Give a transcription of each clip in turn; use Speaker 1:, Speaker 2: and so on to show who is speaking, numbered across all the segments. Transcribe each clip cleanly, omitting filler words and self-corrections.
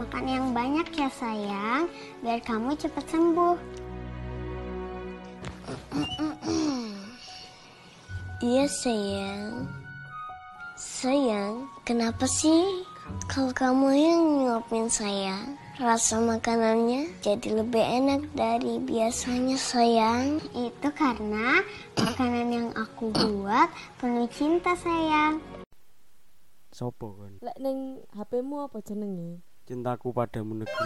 Speaker 1: Makan yang banyak ya sayang, biar kamu cepat sembuh. Iya sayang. Sayang, kenapa sih kalau kamu yang nyuapin saya, rasa makanannya jadi lebih enak dari biasanya sayang? Itu karena makanan yang aku buat penuh cinta sayang.
Speaker 2: Sopo kan?
Speaker 3: Lek ning HP-mu apa jenenge?
Speaker 2: Cintaku padamu negeri.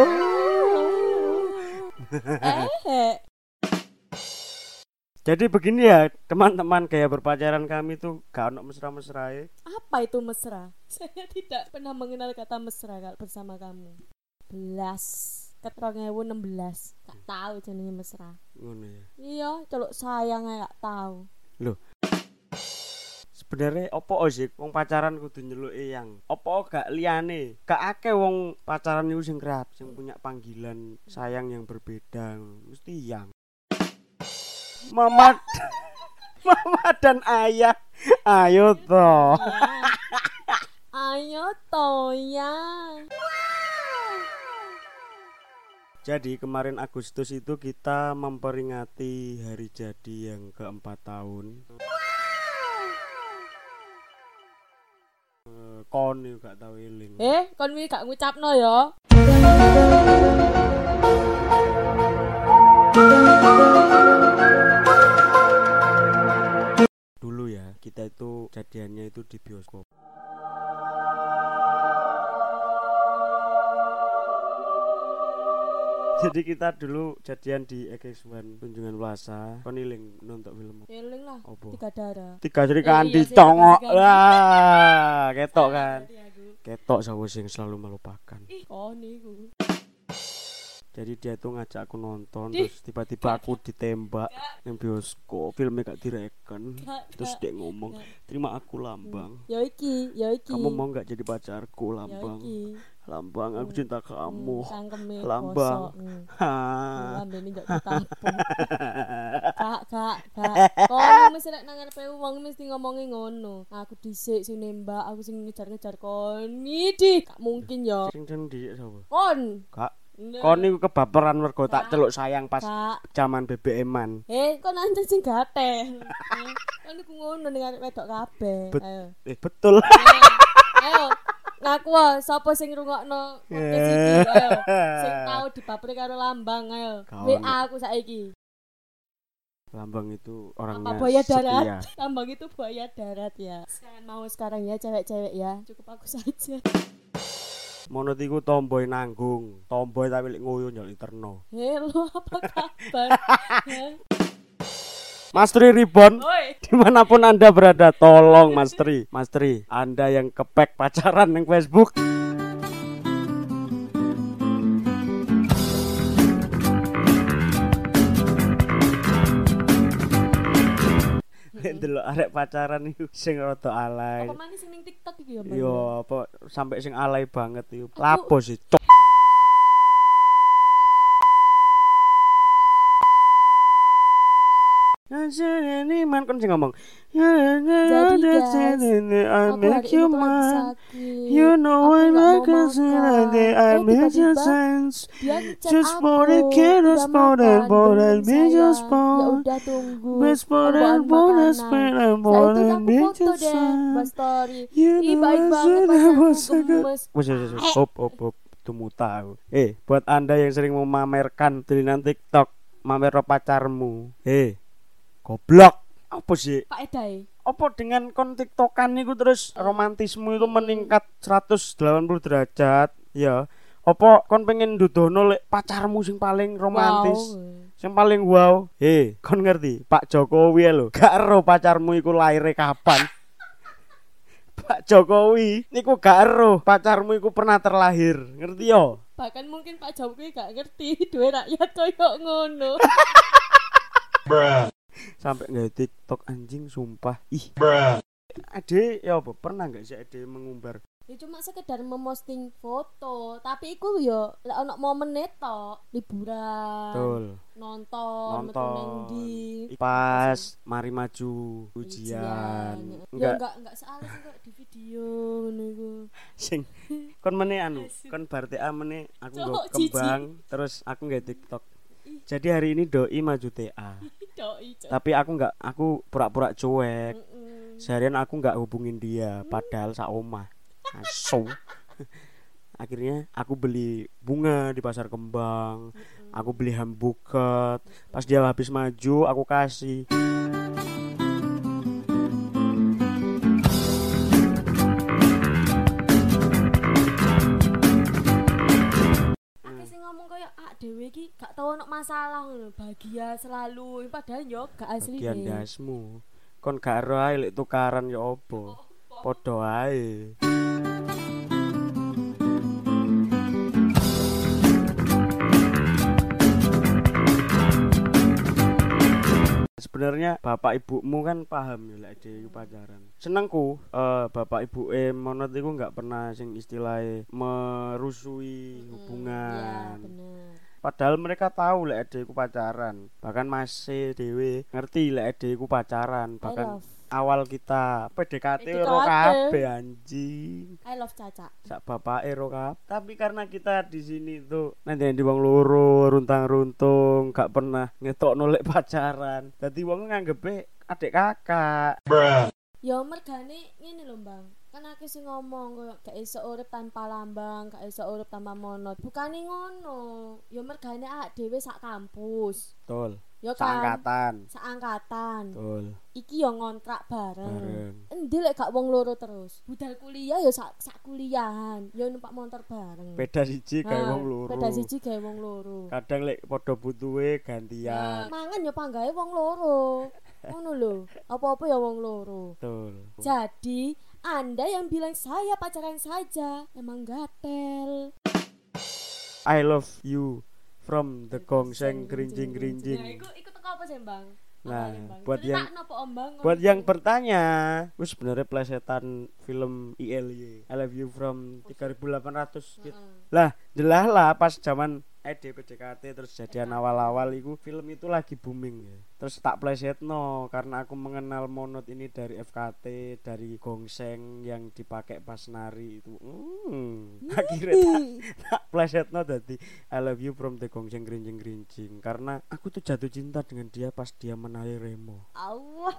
Speaker 2: Jadi begini ya teman-teman, gaya berpacaran kami tuh gak ono mesra-mesrae.
Speaker 3: Apa itu mesra? Saya tidak pernah mengenal kata mesra kalau bersama kamu. Ket 2016 gak tahu jenenge mesra.
Speaker 2: Ngono ya.
Speaker 3: Iya, celuk sayang gak tahu.
Speaker 2: Loh. Sebenarnya opo sih wong pacaran kudu nyeluki yang opo gak liyane? Gak akeh wong pacaran iku sing kreatif, sing punya panggilan sayang yang berbeda. Mesti yang Mama dan ayah. Ayo toh.
Speaker 3: Ayo toh ya.
Speaker 2: Jadi kemarin Agustus itu kita memperingati hari jadi yang ke-4 tahun. Kon yo gak tau eling.
Speaker 3: Kon wi gak ngucapno ya.
Speaker 2: Dulu ya, kita itu jadiannya itu di bioskop. Jadi kita dulu jadian di X1 Tunjungan Plaza. Kon eling nonton film.
Speaker 3: Eling lah.
Speaker 2: Opo?
Speaker 3: Tiga darah.
Speaker 2: Tiga jari kandi
Speaker 3: Iya,
Speaker 2: congok.
Speaker 3: tiga jari.
Speaker 2: Lah, ketok kan. Ketok sapa sing selalu melupakan.
Speaker 3: Oh niku.
Speaker 2: Jadi dia tuh ngajak aku nonton, terus tiba-tiba aku ditembak yang bioskop, filmnya gak direken. Terus dia ngomong, terima aku Lambang.
Speaker 3: Ya iki.
Speaker 2: Kamu mau gak jadi pacarku Lambang? Lambang, aku cinta kamu. Lambang.
Speaker 3: Lambene njak ditapung. Kak. Kon mesti nek nang ngarepe wong mesti ngomongi ngono. Aku dhisik sing nembak, aku sing ngejar-ngejar kon. Nidi, gak mungkin ya.
Speaker 2: Sing dhisik sapa?
Speaker 3: Kon.
Speaker 2: Kak. Kon niku kebaperan mergo tak celuk sayang pas zaman BBM-an.
Speaker 3: Kon anjen sing gatel. Kon niku ngono ning arek wedok kabeh. Ayo.
Speaker 2: Betul.
Speaker 3: Ayo. Ngaku sapa sing ngrungokno podcast iki? Ayo. Sing tau dibaperi karo Lambang ayo. WA aku saiki.
Speaker 2: Lambang itu orangnya
Speaker 3: buaya darat.
Speaker 2: setia.
Speaker 3: Lambang itu buaya darat ya. Jangan mau sekarang ya cewek-cewek ya. Cukup aku saja.
Speaker 2: Monot iku tomboy nanggung, tomboy tapi lek ngoyo nyol interno.
Speaker 3: Halo, apa kabar?
Speaker 2: Mas Tri Ribon,
Speaker 3: Oi.
Speaker 2: dimanapun Anda berada, tolong Mas Tri, Anda yang kepek pacaran yang Facebook. Delok arek pacaran iku sing rada alay.
Speaker 3: Apa manis ning TikTok iki ya, Mbak?
Speaker 2: Yo, apa sampai sing alay banget iku. Lapo sih, cok. Ini man kan sing ngomong.
Speaker 3: Jadi guys,
Speaker 2: I make you mine. You
Speaker 3: You
Speaker 2: know I like us I make you sense. Just for the kid, for the boy, me just for.
Speaker 3: Ya udah tunggu.
Speaker 2: Best for the bonus, for the boy, me just
Speaker 3: Buat
Speaker 2: sense.
Speaker 3: story.
Speaker 2: You
Speaker 3: Ih, baik
Speaker 2: know
Speaker 3: banget
Speaker 2: I was
Speaker 3: pacarku gemes.
Speaker 2: Hop. Temu tahu. Buat Anda yang sering memamerkan tulisan TikTok, mamer pacarmu. Goblok. Apa sih?
Speaker 3: Pak Edai.
Speaker 2: Apa dengan kon TikTokan niku terus romantismu itu meningkat 180 derajat? Ya. Apa kon pengen dudono lek pacarmu sing paling romantis? Sing paling wow. Kon ngerti? Pak Jokowi lho, gak ero pacarmu iku laire kapan? Pak Jokowi niku gak ero pacarmu iku pernah terlahir. Ngerti yo?
Speaker 3: Bahkan mungkin Pak Jokowi gak ngerti duwe rakyat koyo ngono.
Speaker 2: Sampai nggak TikTok anjing sumpah. Ade ya apa pernah nggak sih Ade mengumbar?
Speaker 3: Ya cuma sekedar memposting foto, tapi iku yo lek ono momen tok, liburan.
Speaker 2: Betul.
Speaker 3: Nonton. Metu nang ndi.
Speaker 2: Pas mari maju ujian.
Speaker 3: Ya enggak salah sih kok di video ngono iku.
Speaker 2: Sing Kon meneh anu, kon bar TA meneh aku nggo kembang terus aku nggawe TikTok. Jadi hari ini doi maju TA.
Speaker 3: Doi.
Speaker 2: Tapi aku pura-pura cuek. Seharian aku enggak hubungin dia padahal sak omah. Asu. Akhirnya aku beli bunga di pasar kembang. Aku beli hamburger. Pas dia habis maju aku kasih.
Speaker 3: Dewe iki gak tau ono masalah ngono, bahagia selalu padahal yo gak asli.
Speaker 2: Bagian dasmu. Kon gak ero ae lek tukaran yo opo. Padha ae. Sebenarnya bapak ibumu kan paham ya lek dhewe pacaran. Senengku bapak ibu monot iku enggak pernah sing istilahnya merusui hubungan.
Speaker 3: Iya, bener.
Speaker 2: Padahal mereka tahu lek adekku pacaran. Bahkan masih dhewe ngerti lek adekku pacaran. Bahkan awal kita PDKT ro kabeh anjing.
Speaker 3: I love Caca.
Speaker 2: Sak bapake ro kabeh. Tapi karena kita di sini tuh nanti wong loro runtang-runtung, gak pernah ngetokno lek pacaran. Dadi wong nganggepe adik kakak.
Speaker 3: Ya mergane ngene lho, Bang. Kan aku sing ngomong koyo gak iso urip tanpa lambang, gak iso urip tanpa monot. Bukane ngono. Ya mergane awak dhewe sak kampus.
Speaker 2: Betul.
Speaker 3: Ya kan.
Speaker 2: Seangkatan. Betul.
Speaker 3: Iki yo ngontrak bareng. Endi lek gak wong loro terus? Budal kuliah yo sak kuliahan, yo numpak motor bareng.
Speaker 2: Beda siji gawe wong loro.
Speaker 3: Beda siji gawe wong loro.
Speaker 2: Kadang lek padha butuhe gantian.
Speaker 3: Mangan yo panggawe wong loro. Ngono lho. Apa-apa ya wong loro.
Speaker 2: Betul.
Speaker 3: Jadi, Anda yang bilang saya pacaran saja emang gatel.
Speaker 2: I love you from the gongseng grinjing-grinjing.
Speaker 3: Nah, iku teko apa sih, Bang?
Speaker 2: Nah, buat yang bertanya, itu sebenarnya plesetan film ILY, I Love You from 3800 gitu. Lah, jelas lah pas zaman PDKT terus jadian awal-awal itu film itu lagi booming ya. Terus tak plesetno karena aku mengenal monot ini dari FKT, dari gongseng yang dipakai pas nari itu. Akhirnya tak plesetno dadi I Love You from the gongseng grinjing-grinjing karena aku tuh jatuh cinta dengan dia pas dia menari remo.
Speaker 3: Allah.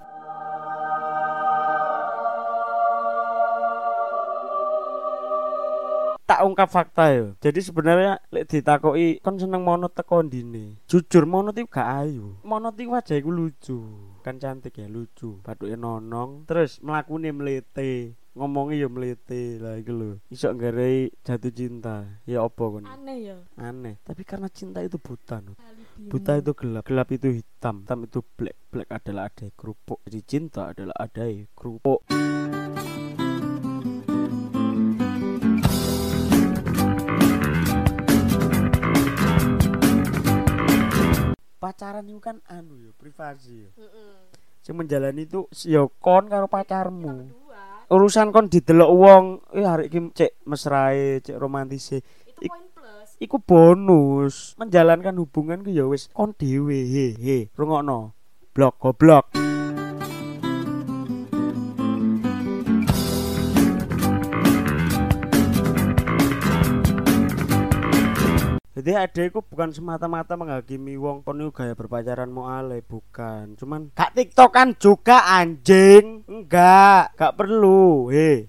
Speaker 2: Tak ungkap fakta yo. Jadi sebenarnya lek ditakoki kon seneng monot teko ndine. Jujur monot iku gak ayu. Monot iku wajah iku lucu. Kan cantik ya, lucu. Bathuke nonong, terus mlakune mlete. Ngomongnya ya mlete lah iku lho. Iso nggarai jatuh cinta. Ya opo kon?
Speaker 3: Aneh ya.
Speaker 2: Aneh. Tapi karena cinta itu buta, no. Buta itu gelap, gelap itu hitam, hitam itu black, black adalah adai kerupuk. Jadi cinta adalah adai kerupuk. Pacaran itu kan anu yo, privasi yo. Sing menjalani itu yo kon karo pacarmu. Urusan kon didelok wong, hari iki cek mesrae, cek romantise.
Speaker 3: Itu poin plus.
Speaker 2: Iku bonus. Menjalankan hubungan ku ya wis kon dhewe. He, rungokno. Blok goblok. Jadi adekku bukan semata-mata menghakimi wong kon niku gaya berpacaran moale, bukan. Cuman gak TikTokan juga anjing. Enggak perlu. He.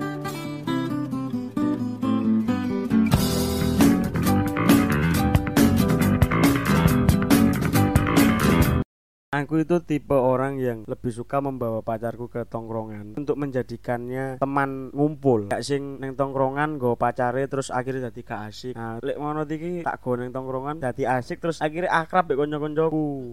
Speaker 2: Aku itu tipe orang yang lebih suka membawa pacarku ke tongkrongan untuk menjadikannya teman ngumpul. Gak sing neng tongkrongan go pacare terus akhirnya jadi gak asik. Nah, lek ngono iki tak go neng tongkrongan jadi asik terus akhirnya akrab mek kanca-kancaku.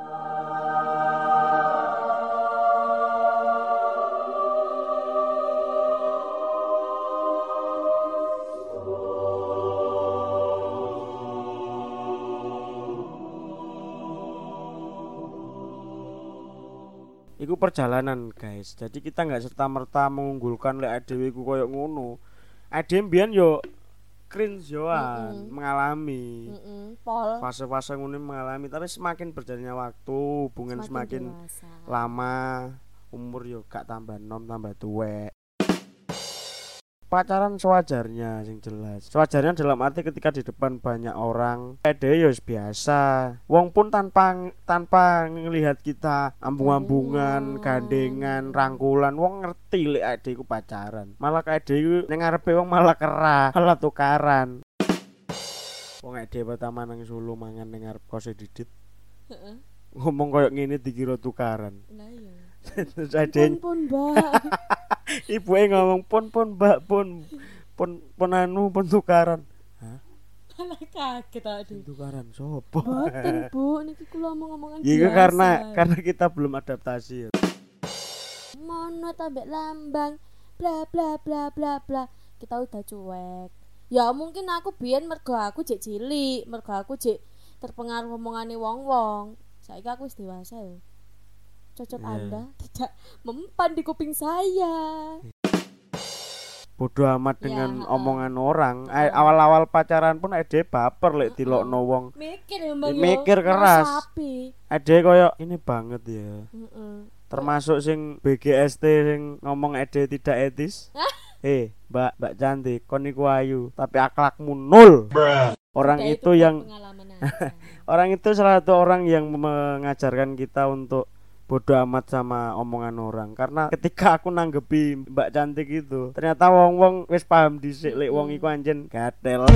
Speaker 2: Iku perjalanan guys. Jadi kita nggak serta merta mengunggulkan lek dhewe ku koyo ngono. Adem mbiyen yo cringe yoan mengalami fase-fase ngono mengalami, tapi semakin berjalannya waktu hubungan semakin lama, umur yo gak tambah nom tambah tuwek. pacaran sewajarnya sing jelas. Sewajarnya dalam arti ketika di depan banyak orang, ede ya biasa. Wong pun tanpa ngelihat kita ambung-ambungan, gandengan, rangkulan, wong ngerti lek ade iku pacaran. Malah ade iku ning ngarepe wong malah kerah, malah tukaran. Wong ade pertama nang Solo mangan ning ngarep kose Didit. Heeh. Ngomong koyo ngene dikira tukaran.
Speaker 3: Lah iya.
Speaker 2: Terus ade
Speaker 3: Pun, Mbak.
Speaker 2: ibuke ngomong pun mbak pun anu pun tukaran. Hah?
Speaker 3: Malah kaget aduh.
Speaker 2: Tukaran sopo?
Speaker 3: Boten, Bu, niki kula ngomong-ngomongan biasa.
Speaker 2: Iya karena kita belum adaptasi ya.
Speaker 3: Mono tambah lambang bla bla bla bla bla. Kita udah cuek. Ya mungkin aku biyen mergo aku jek cilik, mergo aku jek terpengaruh omongane wong-wong. Saiki aku wis dewasa ya. Cocok Anda tidak mempan di kuping saya.
Speaker 2: Bodoh amat dengan omongan orang. Awal-awal pacaran pun ade baper lek dilokno wong. Mikir keras. Ade koyo ini banget ya. Termasuk sing BGST sing ngomong ade tidak etis. Mbak cantik, kon niku ayu, tapi akhlakmu nol. Orang itu yang orang itu salah satu orang yang mengajarkan kita untuk bodoh amat sama omongan orang. Karena ketika aku nanggepi Mbak cantik itu, ternyata wong-wong wis paham dhisik lek wong iku anjen gatel.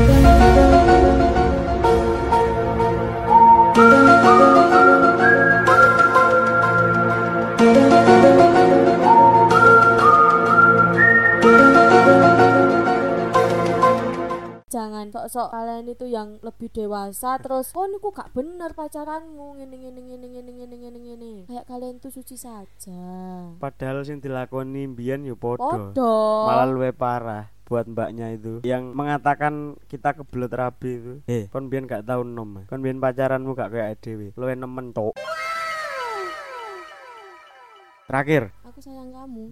Speaker 3: Jangan sok-sok kalian itu yang lebih dewasa terus niku gak bener pacaranmu ngene. Kayak kalian tuh suci saja.
Speaker 2: Padahal sing dilakoni mbiyen ya padha. Malah luwih parah buat mbaknya itu yang mengatakan kita kebelet rabi itu. Kon mbiyen gak tau nom. Kon mbiyen pacaranmu gak kayak dhewe. Luwih nemen tok. Terakhir.
Speaker 3: Aku sayang kamu.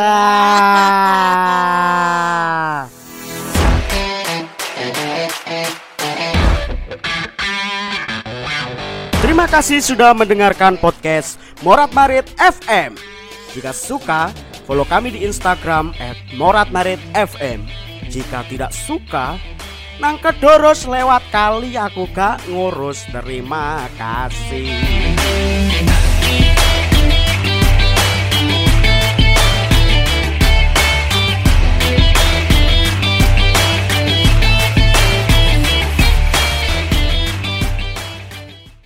Speaker 2: Terima kasih sudah mendengarkan podcast Morat Marit FM. Jika suka, follow kami di Instagram @moratmaritfm. Jika tidak suka, nang kedoros lewat kali aku gak ngurus. Terima kasih.